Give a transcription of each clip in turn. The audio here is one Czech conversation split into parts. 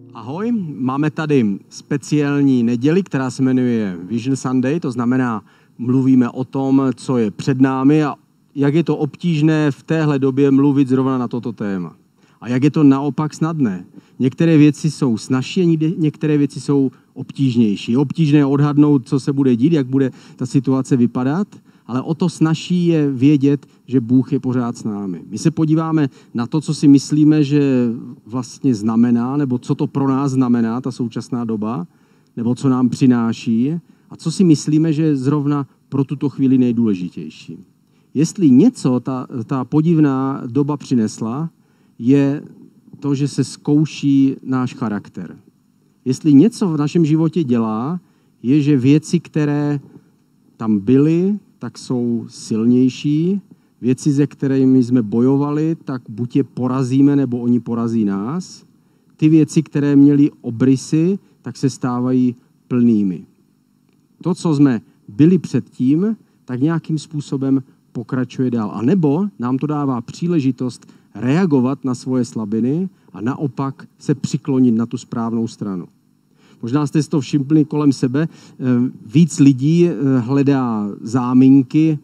Ahoj, máme tady speciální neděli, která se jmenuje Vision Sunday, to znamená, mluvíme o tom, co je před námi a jak je to obtížné v téhle době mluvit zrovna na toto téma. A jak je to naopak snadné. Některé věci jsou snazší a některé věci jsou obtížnější. Obtížné odhadnout, co se bude dít, jak bude ta situace vypadat, ale o to snazší je vědět, že Bůh je pořád s námi. My se podíváme na to, co si myslíme, že vlastně znamená, nebo co to pro nás znamená, ta současná doba, nebo co nám přináší, a co si myslíme, že je zrovna pro tuto chvíli nejdůležitější. Jestli něco ta podivná doba přinesla, je to, že se zkouší náš charakter. Jestli něco v našem životě dělá, je, že věci, které tam byly, tak jsou silnější. Věci, se kterými jsme bojovali, tak buď je porazíme, nebo oni porazí nás. Ty věci, které měly obrysy, tak se stávají plnými. To, co jsme byli předtím, tak nějakým způsobem pokračuje dál. A nebo nám to dává příležitost reagovat na svoje slabiny a naopak se přiklonit na tu správnou stranu. Možná jste si to všimli kolem sebe. Víc lidí hledá záminky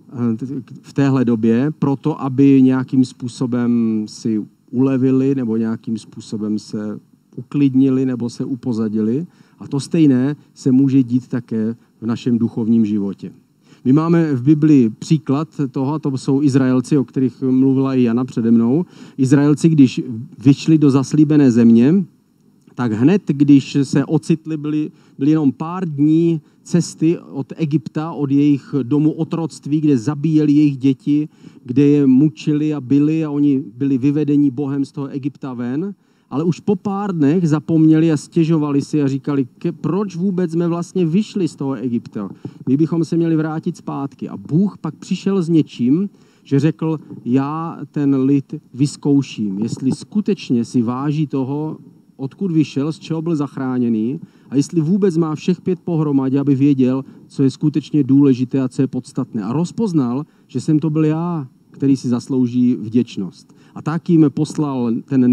v téhle době proto, aby nějakým způsobem si ulevili nebo nějakým způsobem se uklidnili nebo se upozadili. A to stejné se může dít také v našem duchovním životě. My máme v Biblii příklad toho, to jsou Izraelci, o kterých mluvila i Jana přede mnou. Izraelci, když vyšli do zaslíbené země, tak hned, když se ocitli, byli jenom pár dní cesty od Egypta, od jejich domu otroctví, kde zabíjeli jejich děti, kde je mučili a byli a oni byli vyvedeni Bohem z toho Egypta ven. Ale už po pár dnech zapomněli a stěžovali si a říkali, proč vůbec jsme vlastně vyšli z toho Egypta. My bychom se měli vrátit zpátky. A Bůh pak přišel s něčím, že řekl, já ten lid vyzkouším, jestli skutečně si váží toho, odkud vyšel, z čeho byl zachráněný a jestli vůbec má všech 5 pohromadě, aby věděl, co je skutečně důležité a co je podstatné. A rozpoznal, že jsem to byl já, který si zaslouží vděčnost. A tak jim poslal ten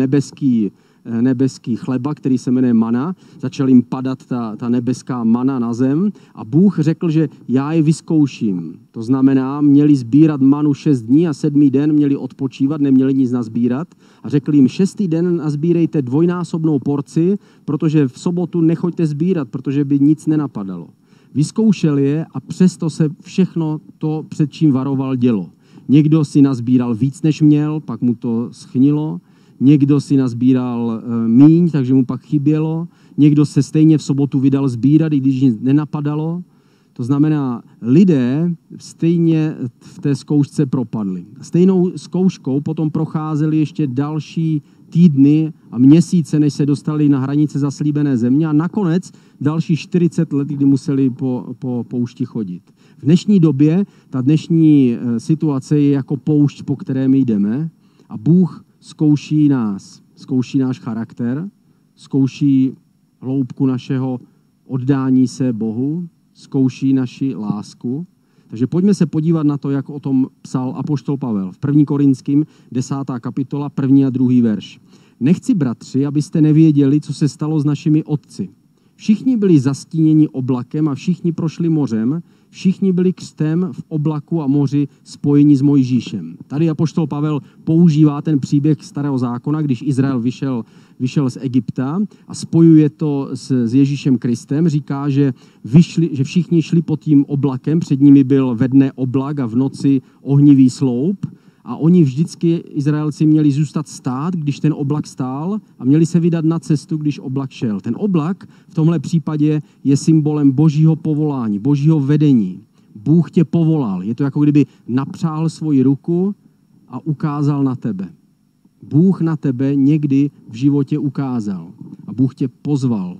nebeský chleba, který se jmenuje mana. Začal jim padat ta nebeská mana na zem a Bůh řekl, že já je vyzkouším. To znamená, měli sbírat manu 6 dní a 7. den měli odpočívat, neměli nic nazbírat. A řekl jim, 6. den nazbírejte 2násobnou porci, protože v sobotu nechoďte sbírat, protože by nic nenapadalo. Vyzkoušel je a přesto se všechno to, před čím varoval, dělo. Někdo si nazbíral víc, než měl, pak mu to schnilo. Někdo si nazbíral míň, takže mu pak chybělo. Někdo se stejně v sobotu vydal sbírat, i když nic nenapadalo. To znamená, lidé stejně v té zkoušce propadli. Stejnou zkouškou potom procházeli ještě další týdny a měsíce, než se dostali na hranice zaslíbené země a nakonec další 40 let, kdy museli po poušti chodit. V dnešní době ta dnešní situace je jako poušť, po které my jdeme a Bůh zkouší nás, zkouší náš charakter, zkouší hloubku našeho oddání se Bohu, zkouší naši lásku. Takže pojďme se podívat na to, jak o tom psal apoštol Pavel. V 1. Korinským 10. kapitola, 1. a 2. verš. Nechci, bratři, abyste nevěděli, co se stalo s našimi otci. Všichni byli zastíněni oblakem a všichni prošli mořem, všichni byli křtem v oblaku a moři spojeni s Mojžíšem. Tady apoštol Pavel používá ten příběh Starého zákona, když Izrael vyšel z Egypta a spojuje to s Ježíšem Kristem. Říká, že všichni šli pod tím oblakem, před nimi byl ve dne oblak a v noci ohnivý sloup. A oni vždycky, Izraelci, měli zůstat stát, když ten oblak stál a měli se vydat na cestu, když oblak šel. Ten oblak v tomhle případě je symbolem božího povolání, božího vedení. Bůh tě povolal. Je to jako kdyby napřál svoji ruku a ukázal na tebe. Bůh na tebe někdy v životě ukázal a Bůh tě pozval.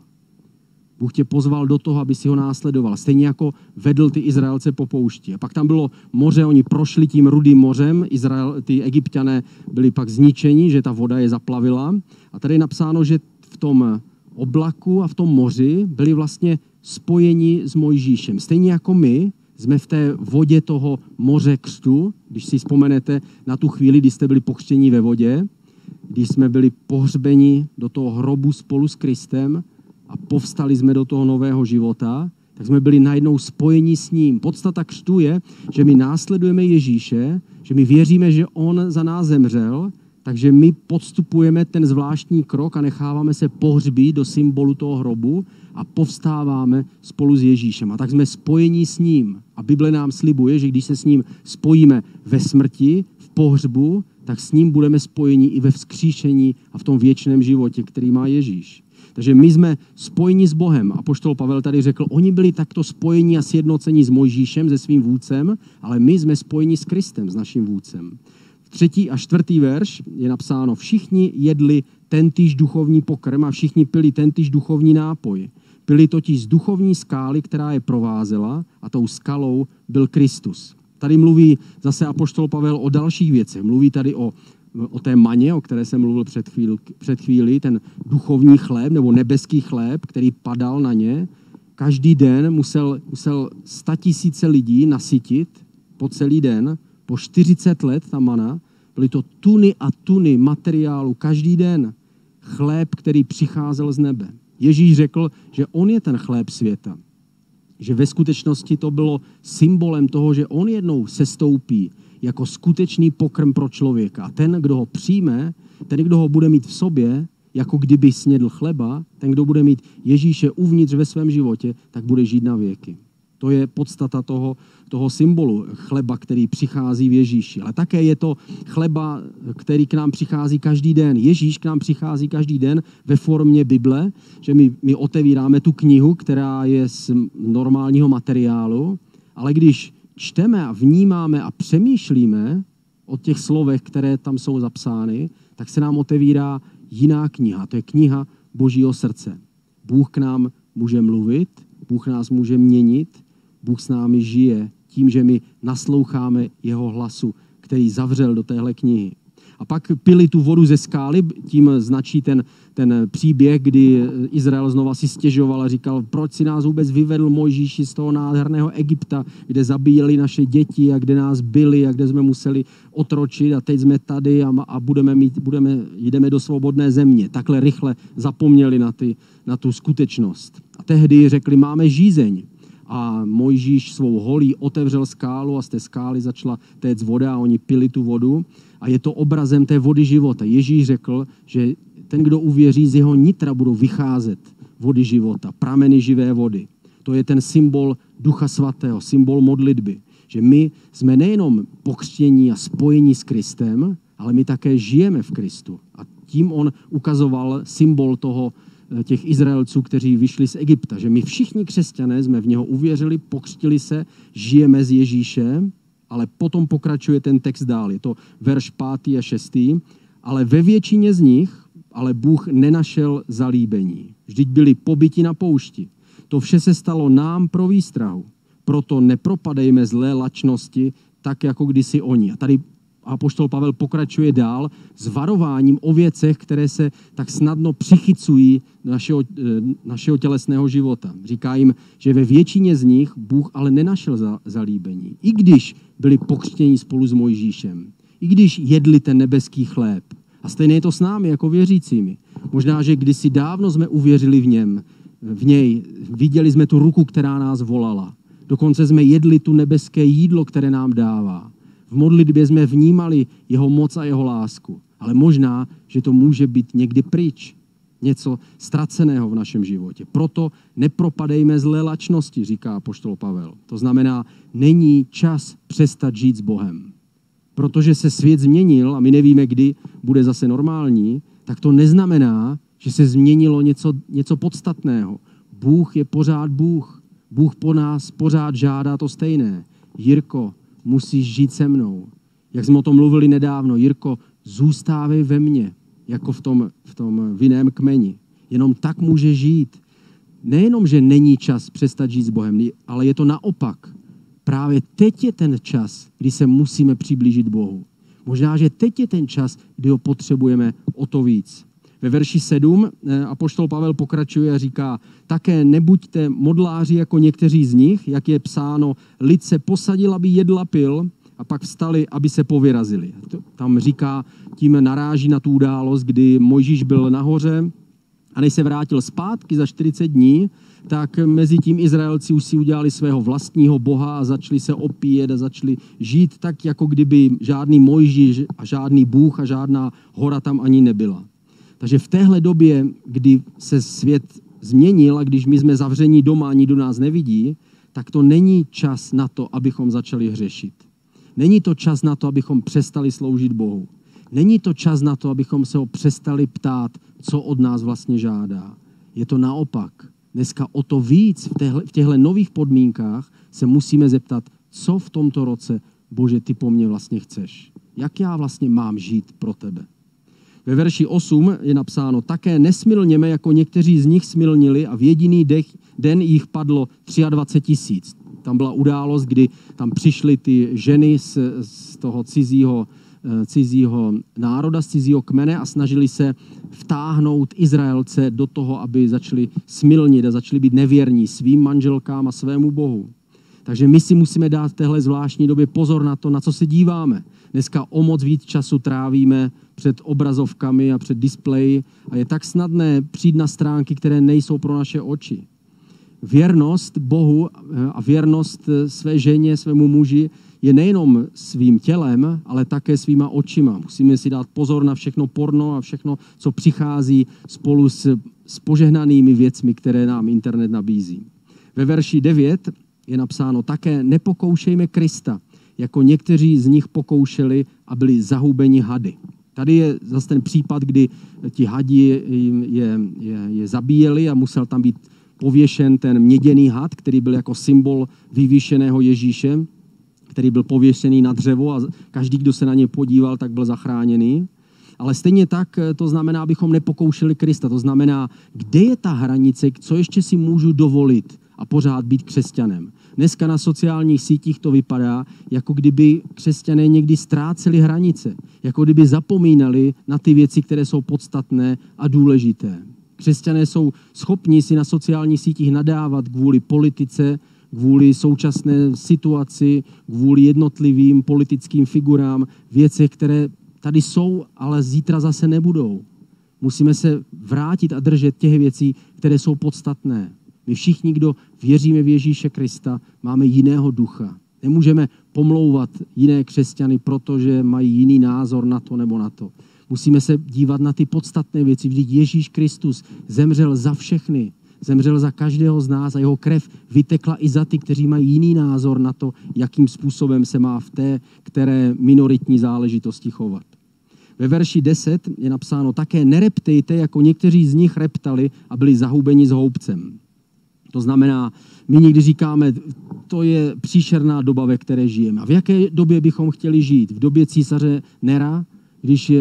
Bůh tě pozval do toho, aby si ho následoval. Stejně jako vedl ty Izraelce po poušti. A pak tam bylo moře, oni prošli tím Rudým mořem, ty Egypťané byli pak zničeni, že ta voda je zaplavila. A tady je napsáno, že v tom oblaku a v tom moři byli vlastně spojeni s Mojžíšem. Stejně jako my jsme v té vodě toho moře křtu, když si vzpomenete na tu chvíli, kdy jste byli pokřtěni ve vodě, když jsme byli pohřbeni do toho hrobu spolu s Kristem a povstali jsme do toho nového života, tak jsme byli najednou spojeni s ním. Podstata křtu je, že my následujeme Ježíše, že my věříme, že on za nás zemřel, takže my podstupujeme ten zvláštní krok a necháváme se pohřbít do symbolu toho hrobu a povstáváme spolu s Ježíšem. A tak jsme spojeni s ním. A Bible nám slibuje, že když se s ním spojíme ve smrti, v pohřbu, tak s ním budeme spojeni i ve vzkříšení a v tom věčném životě, který má Ježíš. Takže my jsme spojeni s Bohem. Apoštol Pavel tady řekl, oni byli takto spojeni a sjednoceni s Mojžíšem, se svým vůdcem, ale my jsme spojeni s Kristem, s naším vůdcem. 3. a 4. verš je napsáno, všichni jedli tentýž duchovní pokrm a všichni pili tentýž duchovní nápoj. Pili totiž z duchovní skály, která je provázela, a tou skalou byl Kristus. Tady mluví zase apoštol Pavel o dalších věcech. Mluví tady o té maně, o které jsem mluvil před chvílí, ten duchovní chléb nebo nebeský chléb, který padal na ně. Každý den musel 100 000 lidí nasytit po celý den, po 40 let ta mana, byly to tuny a tuny materiálu každý den. Chléb, který přicházel z nebe. Ježíš řekl, že on je ten chléb světa. Že ve skutečnosti to bylo symbolem toho, že on jednou sestoupí jako skutečný pokrm pro člověka. A ten, kdo ho přijme, ten, kdo ho bude mít v sobě, jako kdyby snědl chleba, ten, kdo bude mít Ježíše uvnitř ve svém životě, tak bude žít na věky. To je podstata toho symbolu chleba, který přichází v Ježíši. Ale také je to chleba, který k nám přichází každý den. Ježíš k nám přichází každý den ve formě Bible, že my otevíráme tu knihu, která je z normálního materiálu, ale když čteme a vnímáme a přemýšlíme o těch slovech, které tam jsou zapsány, tak se nám otevírá jiná kniha. To je kniha Božího srdce. Bůh k nám může mluvit, Bůh nás může měnit, Bůh s námi žije tím, že my nasloucháme jeho hlasu, který zavřel do téhle knihy. A pak pili tu vodu ze skály, tím značí ten příběh, kdy Izrael znova si stěžoval a říkal, proč si nás vůbec vyvedl Mojžíši z toho nádherného Egypta, kde zabíjeli naše děti a kde nás byli a kde jsme museli otročit a teď jsme tady a jdeme do svobodné země. Takhle rychle zapomněli na tu skutečnost. A tehdy řekli, máme žízeň. A Mojžíš svou holí otevřel skálu a z té skály začala téct voda a oni pili tu vodu. A je to obrazem té vody života. Ježíš řekl, že ten, kdo uvěří, z jeho nitra budou vycházet vody života, prameny živé vody. To je ten symbol Ducha Svatého, symbol modlitby. Že my jsme nejenom pokřtění a spojení s Kristem, ale my také žijeme v Kristu. A tím on ukazoval symbol těch Izraelců, kteří vyšli z Egypta. Že my všichni křesťané jsme v něho uvěřili, pokřtili se, žijeme s Ježíšem, ale potom pokračuje ten text dál. Je to verš 5. a 6. Ale ve většině z nich ale Bůh nenašel zalíbení. Vždyť byli pobyti na poušti. To vše se stalo nám pro výstrahu. Proto nepropadejme zlé lačnosti, tak jako kdysi oni. A tady apoštol Pavel pokračuje dál s varováním o věcech, které se tak snadno přichycují našeho tělesného života. Říká jim, že ve většině z nich Bůh ale nenašel zalíbení. I když byli pokřtěni spolu s Mojžíšem. I když jedli ten nebeský chléb. A stejně je to s námi jako věřícími. Možná, že kdysi dávno jsme uvěřili v něj, viděli jsme tu ruku, která nás volala. Dokonce jsme jedli tu nebeské jídlo, které nám dává. V modlitbě jsme vnímali jeho moc a jeho lásku. Ale možná, že to může být někdy pryč. Něco ztraceného v našem životě. Proto nepropadejme zlé lačnosti, říká apoštol Pavel. To znamená, není čas přestat žít s Bohem. Protože se svět změnil a my nevíme, kdy bude zase normální, tak to neznamená, že se změnilo něco podstatného. Bůh je pořád Bůh. Bůh po nás pořád žádá to stejné. Jirko, musíš žít se mnou. Jak jsme o tom mluvili nedávno, Jirko, zůstávej ve mně, jako v tom vinném kmeni. Jenom tak může žít. Nejenom, že není čas přestat žít s Bohem, ale je to naopak. Právě teď je ten čas, kdy se musíme přiblížit Bohu. Možná, že teď je ten čas, kdy ho potřebujeme o to víc. Ve verši 7 apoštol Pavel pokračuje a říká, také nebuďte modláři jako někteří z nich, jak je psáno, lid se posadil, aby jedl a pil, a pak vstali, aby se povyrazili. Tam říká, tím naráží na tu událost, kdy Mojžíš byl nahoře a než se vrátil zpátky za 40 dní, tak mezi tím Izraelci už si udělali svého vlastního boha a začali se opíjet a začali žít tak, jako kdyby žádný Mojžíš a žádný Bůh a žádná hora tam ani nebyla. Takže v téhle době, kdy se svět změnil a když my jsme zavření doma a nikdo nás nevidí, tak to není čas na to, abychom začali hřešit. Není to čas na to, abychom přestali sloužit Bohu. Není to čas na to, abychom se ho přestali ptát, co od nás vlastně žádá. Je to naopak. Dneska o to víc v těchto nových podmínkách se musíme zeptat, co v tomto roce, Bože, ty po mně vlastně chceš. Jak já vlastně mám žít pro tebe. Ve verši 8 je napsáno, také nesmilněme, jako někteří z nich smilnili a v jediný den jich padlo 23 000. Tam byla událost, kdy tam přišly ty ženy z toho cizího národa, z cizího kmene a snažili se vtáhnout Izraelce do toho, aby začali smilnit a začali být nevěrní svým manželkám a svému Bohu. Takže my si musíme dát v téhle zvláštní době pozor na to, na co se díváme. Dneska o moc víc času trávíme před obrazovkami a před displeji a je tak snadné přijít na stránky, které nejsou pro naše oči. Věrnost Bohu a věrnost své ženě, svému muži je nejenom svým tělem, ale také svýma očima. Musíme si dát pozor na všechno porno a všechno, co přichází spolu s požehnanými věcmi, které nám internet nabízí. Ve verši 9 je napsáno také nepokoušejme Krista, jako někteří z nich pokoušeli a byli zahubeni hady. Tady je zase ten případ, kdy ti hadi je zabíjeli a musel tam být pověšen ten měděný had, který byl jako symbol vyvýšeného Ježíše, který byl pověšený na dřevo a každý, kdo se na ně podíval, tak byl zachráněný. Ale stejně tak to znamená, abychom nepokoušeli Krista. To znamená, kde je ta hranice, co ještě si můžu dovolit a pořád být křesťanem. Dneska na sociálních sítích to vypadá, jako kdyby křesťané někdy ztráceli hranice. Jako kdyby zapomínali na ty věci, které jsou podstatné a důležité. Křesťané jsou schopni si na sociálních sítích nadávat kvůli politice, kvůli současné situaci, kvůli jednotlivým politickým figurám, věcech, které tady jsou, ale zítra zase nebudou. Musíme se vrátit a držet těch věcí, které jsou podstatné. My všichni, kdo věříme v Ježíše Krista, máme jiného ducha. Nemůžeme pomlouvat jiné křesťany, protože mají jiný názor na to nebo na to. Musíme se dívat na ty podstatné věci. Vždyť Ježíš Kristus zemřel za všechny. Zemřel za každého z nás a jeho krev vytekla i za ty, kteří mají jiný názor na to, jakým způsobem se má v té, které minoritní záležitosti chovat. Ve verši 10 je napsáno také nereptejte, jako někteří z nich reptali a byli zahubeni s houbcem. To znamená, my někdy říkáme, to je příšerná doba, ve které žijeme. A v jaké době bychom chtěli žít? V době císaře Nera, když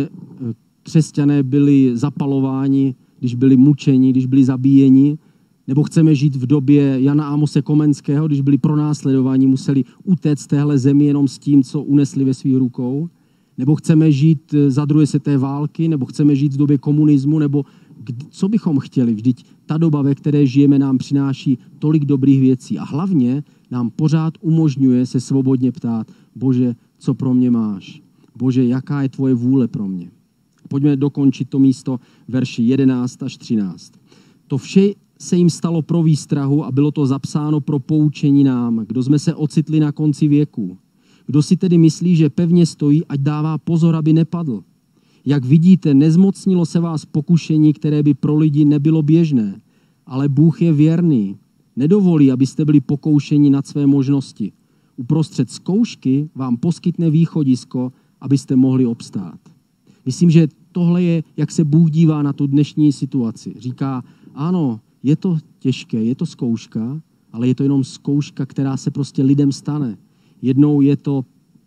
křesťané byli zapalováni, když byli mučeni, když byli zabíjeni, nebo chceme žít v době Jana Amose Komenského, když byli pronásledováni, museli utéct z téhle zemi jenom s tím, co unesli ve svých rukou, nebo chceme žít za druhé světové války, nebo chceme žít v době komunismu, nebo co bychom chtěli? Vždyť ta doba, ve které žijeme, nám přináší tolik dobrých věcí a hlavně nám pořád umožňuje se svobodně ptát, Bože, co pro mě máš? Bože, jaká je tvoje vůle pro mě? Pojďme dokončit to místo verši 11 až 13. To vše se jim stalo pro výstrahu a bylo to zapsáno pro poučení nám, kdo jsme se ocitli na konci věku. Kdo si tedy myslí, že pevně stojí, ať dává pozor, aby nepadl. Jak vidíte, nezmocnilo se vás pokušení, které by pro lidi nebylo běžné, ale Bůh je věrný. Nedovolí, abyste byli pokoušeni nad své možnosti. Uprostřed zkoušky vám poskytne východisko, abyste mohli obstát. Myslím, že tohle je, jak se Bůh dívá na tu dnešní situaci. Říká, ano, je to těžké, je to zkouška, ale je to jenom zkouška, která se prostě lidem stane. Jednou je to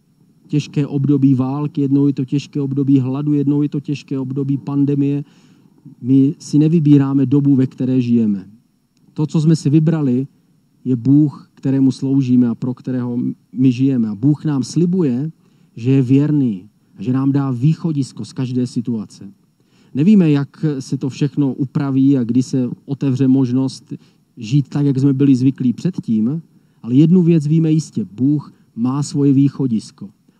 těžké období války, jednou je to těžké období hladu, jednou je to těžké období pandemie. My si nevybíráme dobu, ve které žijeme. To, co jsme si vybrali, je Bůh, kterému sloužíme a pro kterého my žijeme. A Bůh nám slibuje, že je věrný a že nám dá východisko z každé situace. Nevíme, jak se to všechno upraví a kdy se otevře možnost žít tak, jak jsme byli zvyklí předtím, ale jednu věc víme jistě. Bůh má svoje východisko.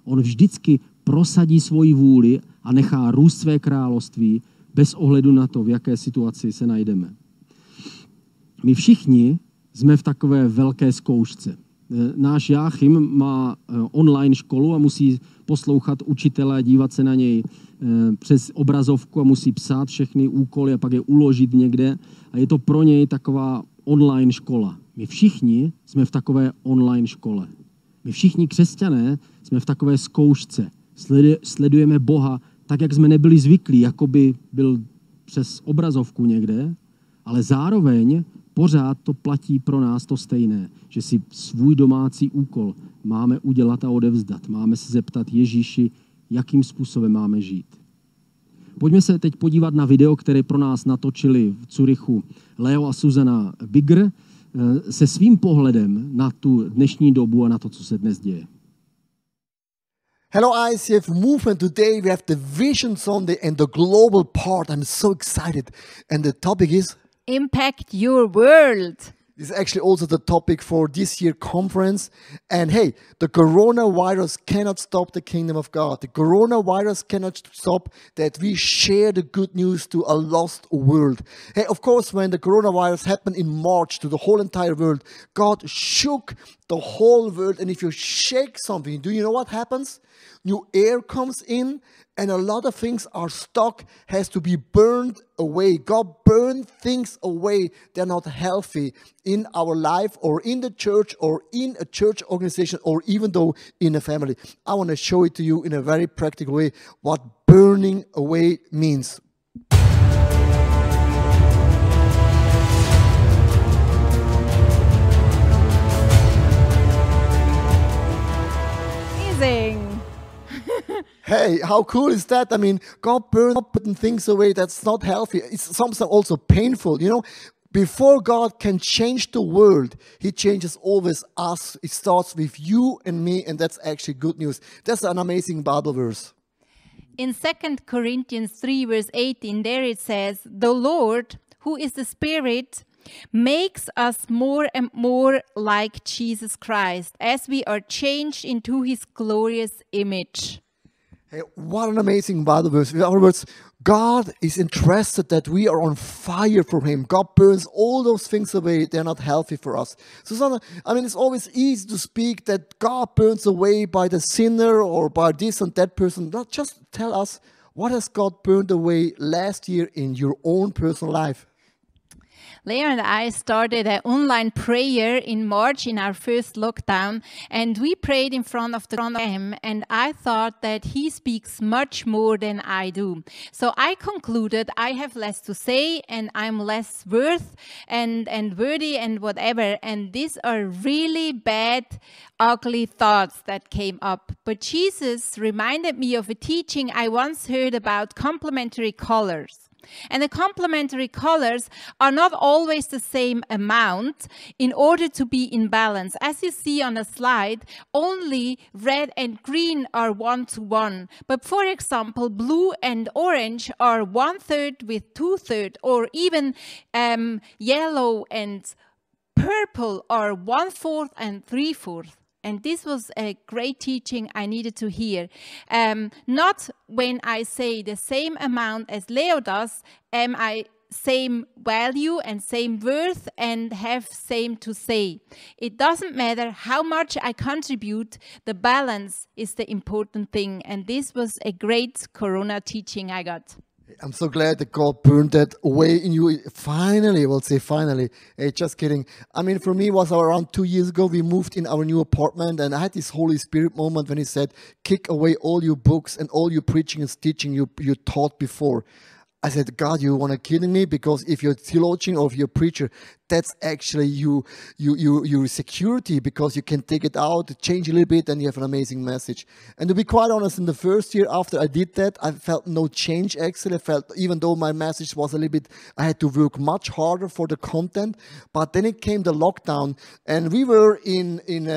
On vždycky prosadí svoji vůli a nechá růst své království bez ohledu na to, v jaké situaci se najdeme. My všichni jsme v takové velké zkoušce. Náš Jáchym má online školu a musí poslouchat učitele a dívat se na něj přes obrazovku a musí psát všechny úkoly a pak je uložit někde. A je to pro něj taková online škola. My všichni jsme v takové online škole. My všichni křesťané jsme v takové zkoušce. Sledujeme Boha tak, jak jsme nebyli zvyklí, jako by byl přes obrazovku někde, ale zároveň pořád to platí pro nás to stejné, že si svůj domácí úkol máme udělat a odevzdat. Máme se zeptat Ježíši, jakým způsobem máme žít. Pojďme se teď podívat na video, které pro nás natočili v Curychu Leo a Susanna Bigger se svým pohledem na tu dnešní dobu a na to, co se dnes děje. Hello ICF Movement. Today we have the Vision Sunday and the global part. I'm so excited. And the topic is Impact your world. This is actually also the topic for this year conference. And hey, the coronavirus cannot stop the kingdom of God. The coronavirus cannot stop that we share the good news to a lost world. Hey, of course, when the coronavirus happened in March to the whole entire world, God shook the whole world. And if you shake something, do you know what happens? New air comes in and a lot of things are stuck, has to be burned away. God burned things away. They're not healthy in our life or in the church or in a church organization or even though in a family. I want to show it to you in a very practical way what burning away means. Amazing. Hey, how cool is that? I mean, God burned up putting things away that's not healthy. It's sometimes also painful, you know. Before God can change the world, He changes always us. It starts with you and me, and that's actually good news. That's an amazing Bible verse. In 2 Corinthians 3 verse 18, there it says, "The Lord, who is the Spirit, makes us more and more like Jesus Christ as we are changed into His glorious image." Hey, what an amazing Bible verse. In other words, God is interested that we are on fire for Him. God burns all those things away. They're not healthy for us. Susanna, I mean, it's always easy to speak that God burns away by the sinner or by this and that person. Not just tell us, what has God burned away last year in your own personal life? Leo and I started an online prayer in March in our first lockdown, and we prayed in front of the Lamb, and I thought that He speaks much more than I do. So I concluded I have less to say and I'm less worth and worthy and whatever, and these are really bad, ugly thoughts that came up. But Jesus reminded me of a teaching I once heard about complementary colors. And the complementary colors are not always the same amount in order to be in balance. As you see on the slide, only red and green are 1-to-1. But for example, blue and orange are 1/3 with 2/3, or even yellow and purple are 1/4 and 3/4. And this was a great teaching I needed to hear. Not when I say the same amount as Leo does, am I same value and same worth and have same to say. It doesn't matter how much I contribute, the balance is the important thing. And this was a great Corona teaching I got. I'm so glad that God burned that away in you. Finally, we'll say finally. Hey, just kidding. I mean, for me, it was around 2 years ago. We moved in our new apartment, and I had this Holy Spirit moment when He said, kick away all your books and all your preaching and teaching you taught before. I said, God, you want to kill me? Because if you're a theologian or if you're a preacher, that's actually your security, because you can take it out, change a little bit, and you have an amazing message. And to be quite honest, in the first year after I did that, I felt no change actually. I felt, even though my message was a little bit, I had to work much harder for the content. But then it came the lockdown, and we were in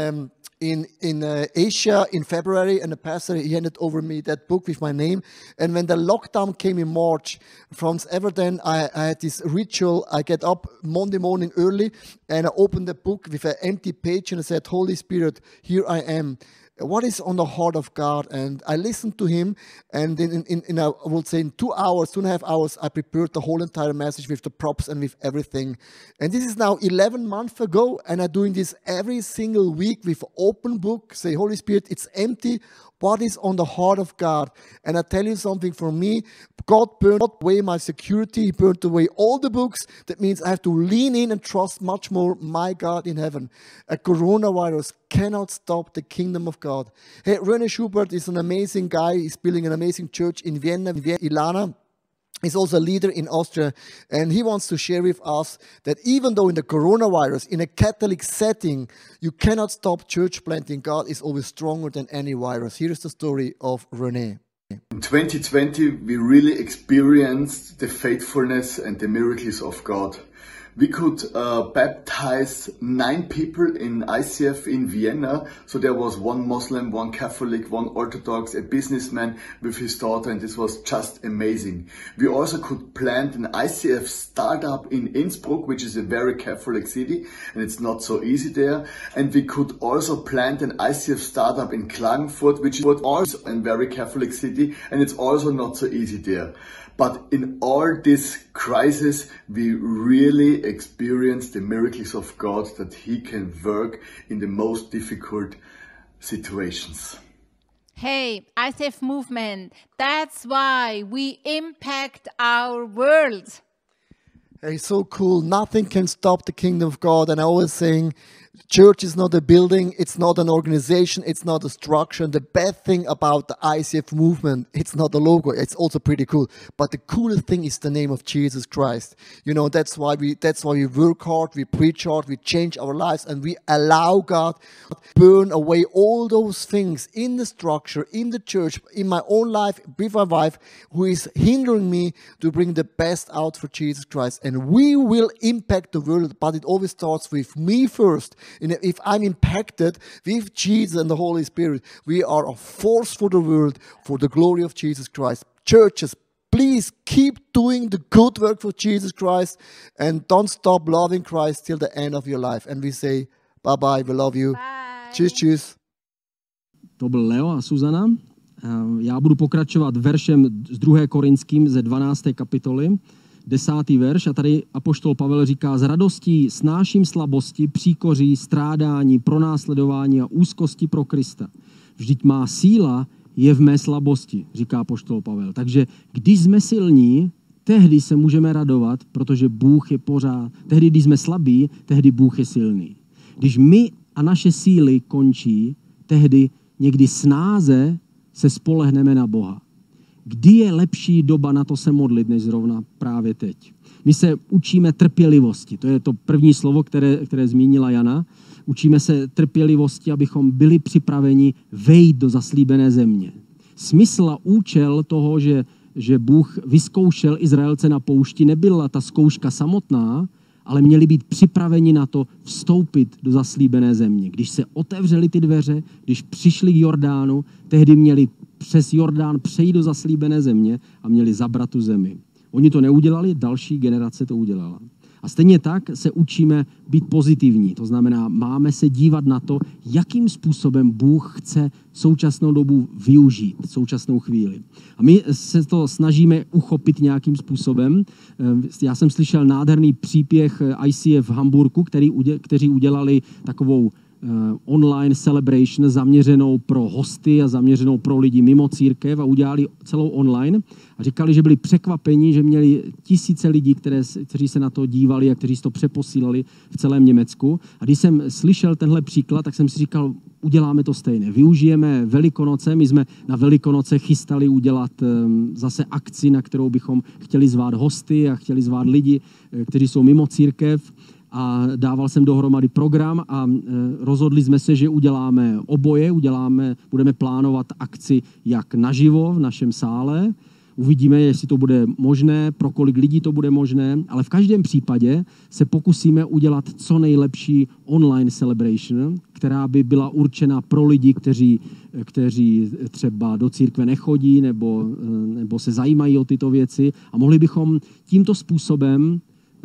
Asia in February, and the pastor, he handed over me that book with my name. And when the lockdown came in March, from ever then I had this ritual. I get up Monday morning early and I opened the book with an empty page and I said, Holy Spirit, here I am. what is on the heart of God. And I listened to him, and I would say in 2 hours, 2.5 hours, I prepared the whole entire message with the props and with everything. And this is now 11 months ago, and I'm doing this every single week with open book. Say, Holy Spirit, it's empty. What is on the heart of God? And I tell you something, for me, God burned away my security. He burned away all the books. That means I have to lean in and trust much more my God in heaven. A coronavirus cannot stop the kingdom of God. Hey, René Schubert is an amazing guy. He's building an amazing church in Vienna, Ilana. He's also a leader in Austria, and he wants to share with us that even though in the coronavirus, in a Catholic setting, you cannot stop church planting, God is always stronger than any virus. Here's the story of René. In 2020, we really experienced the faithfulness and the miracles of God. We could baptize 9 people in ICF in Vienna. So there was 1 Muslim, 1 Catholic, 1 Orthodox, a businessman with his daughter, and this was just amazing. We also could plant an ICF startup in Innsbruck, which is a very Catholic city, and it's not so easy there. And we could also plant an ICF startup in Klagenfurt, which is also a very Catholic city, and it's also not so easy there. But in all this crisis, we really experience the miracles of God, that He can work in the most difficult situations. Hey, ICF movement, that's why we impact our world. Hey, so cool. Nothing can stop the kingdom of God. And I always saying, church is not a building, it's not an organization, it's not a structure. And the bad thing about the ICF movement, it's not the logo, it's also pretty cool. But the coolest thing is the name of Jesus Christ. You know, that's why we work hard, we preach hard, we change our lives, and we allow God to burn away all those things in the structure, in the church, in my own life, with my wife, who is hindering me to bring the best out for Jesus Christ. And we will impact the world, but it always starts with me first. And if I'm impacted with Jesus and the Holy Spirit, we are a force for the world, for the glory of Jesus Christ. Churches, please keep doing the good work for Jesus Christ, and don't stop loving Christ till the end of your life. And we say, bye-bye, we love you. Bye. Cheers, cheers. To byl Leo a Suzana. Já budu pokračovat veršem z 2. Korinským ze 12. kapitoly. 10. verš, a tady apoštol Pavel říká: s radostí snáším slabosti, příkoří, strádání, pronásledování a úzkosti pro Krista. Vždyť má síla je v mé slabosti, říká apoštol Pavel. Takže když jsme silní, tehdy se můžeme radovat, protože Bůh je pořád. Tehdy, když jsme slabí, tehdy Bůh je silný. Když my a naše síly končí, tehdy někdy snáze se spolehneme na Boha. Kdy je lepší doba na to se modlit, než zrovna právě teď? My se učíme trpělivosti. To je to první slovo, které zmínila Jana. Učíme se trpělivosti, abychom byli připraveni vejít do zaslíbené země. Smysl a účel toho, že Bůh vyzkoušel Izraelce na poušti, nebyla ta zkouška samotná, ale měli být připraveni na to vstoupit do zaslíbené země. Když se otevřely ty dveře, když přišli k Jordánu, tehdy měli přes Jordán přejít do zaslíbené země a měli zabrat tu zemi. Oni to neudělali, další generace to udělala. A stejně tak se učíme být pozitivní. To znamená, máme se dívat na to, jakým způsobem Bůh chce současnou dobu využít, současnou chvíli. A my se to snažíme uchopit nějakým způsobem. Já jsem slyšel nádherný příběh ICF v Hamburku, kteří udělali takovou online celebration zaměřenou pro hosty a zaměřenou pro lidi mimo církev a udělali celou online a říkali, že byli překvapeni, že měli tisíce lidí, kteří se na to dívali a kteří to přeposílali v celém Německu. A když jsem slyšel tenhle příklad, tak jsem si říkal, uděláme to stejné. Využijeme Velikonoce, my jsme na Velikonoce chystali udělat zase akci, na kterou bychom chtěli zvát hosty a chtěli zvát lidi, kteří jsou mimo církev. A dával jsem dohromady program a rozhodli jsme se, že uděláme oboje, budeme plánovat akci jak naživo v našem sále, uvidíme, jestli to bude možné, pro kolik lidí to bude možné, ale v každém případě se pokusíme udělat co nejlepší online celebration, která by byla určena pro lidi, kteří třeba do církve nechodí nebo se zajímají o tyto věci, a mohli bychom tímto způsobem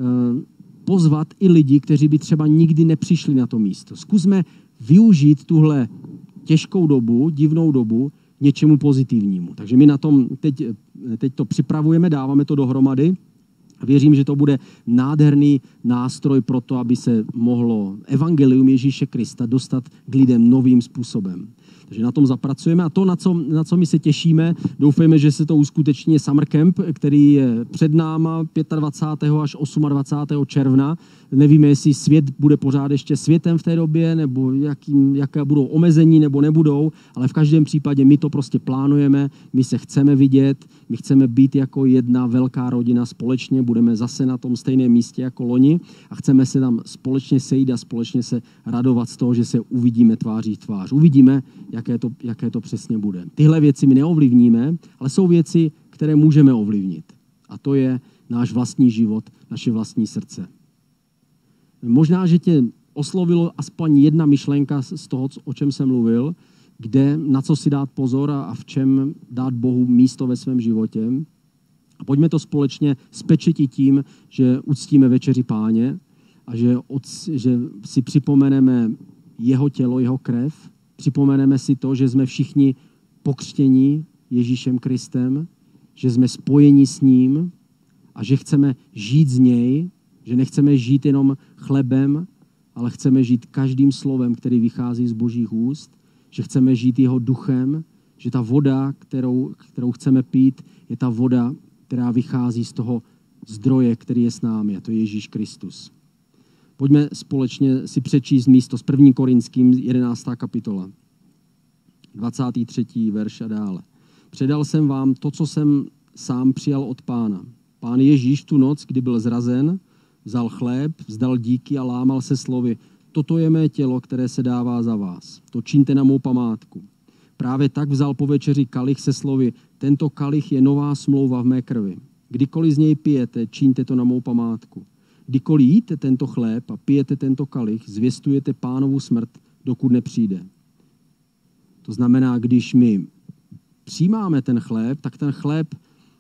pozvat i lidi, kteří by třeba nikdy nepřišli na to místo. Zkusme využít tuhle těžkou dobu, divnou dobu, něčemu pozitivnímu. Takže my na tom teď to připravujeme, dáváme to dohromady. Věřím, že to bude nádherný nástroj pro to, aby se mohlo evangelium Ježíše Krista dostat k lidem novým způsobem. Takže na tom zapracujeme a to, na co my se těšíme, doufejme, že se to uskuteční Summer Camp, který je před náma 25. až 28. června. Nevíme, jestli svět bude pořád ještě světem v té době, nebo jaké budou omezení, nebo nebudou, ale v každém případě my to prostě plánujeme, my se chceme vidět, my chceme být jako jedna velká rodina společně, budeme zase na tom stejném místě jako loni a chceme se tam společně sejít a společně se radovat z toho, že se uvidíme tváří v tvář. Uvidíme, jaké to přesně bude. Tyhle věci my neovlivníme, ale jsou věci, které můžeme ovlivnit. A to je náš vlastní život, naše vlastní srdce. Možná, že tě oslovilo aspoň jedna myšlenka z toho, o čem jsem mluvil, na co si dát pozor a v čem dát Bohu místo ve svém životě. A pojďme to společně spečetit tím, že uctíme večeři Páně a že si připomeneme jeho tělo, jeho krev. Připomeneme si to, že jsme všichni pokřtění Ježíšem Kristem, že jsme spojeni s ním a že chceme žít z něj, že nechceme žít jenom chlebem, ale chceme žít každým slovem, který vychází z Božích úst, že chceme žít jeho duchem, že ta voda, kterou chceme pít, je ta voda, která vychází z toho zdroje, který je s námi, a to je Ježíš Kristus. Pojďme společně si přečíst místo z 1. Korinským 11. kapitola, 23. verš a dále. Předal jsem vám to, co jsem sám přijal od Pána. Pán Ježíš tu noc, kdy byl zrazen, vzal chléb, vzdal díky a lámal se slovy: toto je mé tělo, které se dává za vás. To čiňte na mou památku. Právě tak vzal po večeři kalich se slovy: tento kalich je nová smlouva v mé krvi. Kdykoliv z něj pijete, čiňte to na mou památku. Kdykoliv jíte tento chléb a pijete tento kalich, zvěstujete Pánovu smrt, dokud nepřijde. To znamená, když my přijímáme ten chléb, tak ten chléb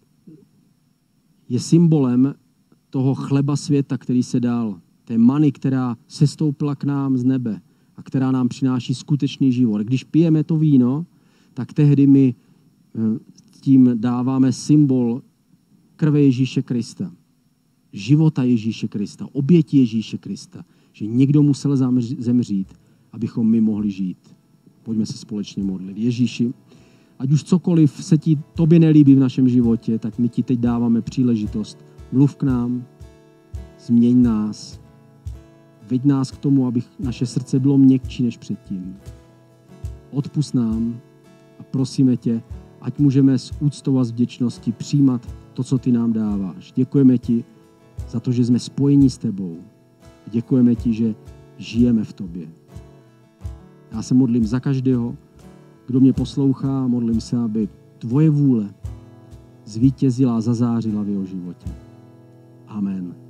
je symbolem toho chleba světa, který se dal. Té many, která sestoupila k nám z nebe a která nám přináší skutečný život. Když pijeme to víno, tak tehdy my tím dáváme symbol krve Ježíše Krista. Života Ježíše Krista, oběti Ježíše Krista. Že někdo musel zemřít, abychom my mohli žít. Pojďme se společně modlit. Ježíši, ať už cokoliv se tobě nelíbí v našem životě, tak my ti teď dáváme příležitost. Mluv k nám, změň nás, veď nás k tomu, aby naše srdce bylo měkčí než předtím. Odpusť nám a prosíme tě, ať můžeme s úctou a s vděčností přijímat to, co ty nám dáváš. Děkujeme ti za to, že jsme spojeni s tebou. Děkujeme ti, že žijeme v tobě. Já se modlím za každého, kdo mě poslouchá, modlím se, aby tvoje vůle zvítězila a zazářila v jeho životě. Amen.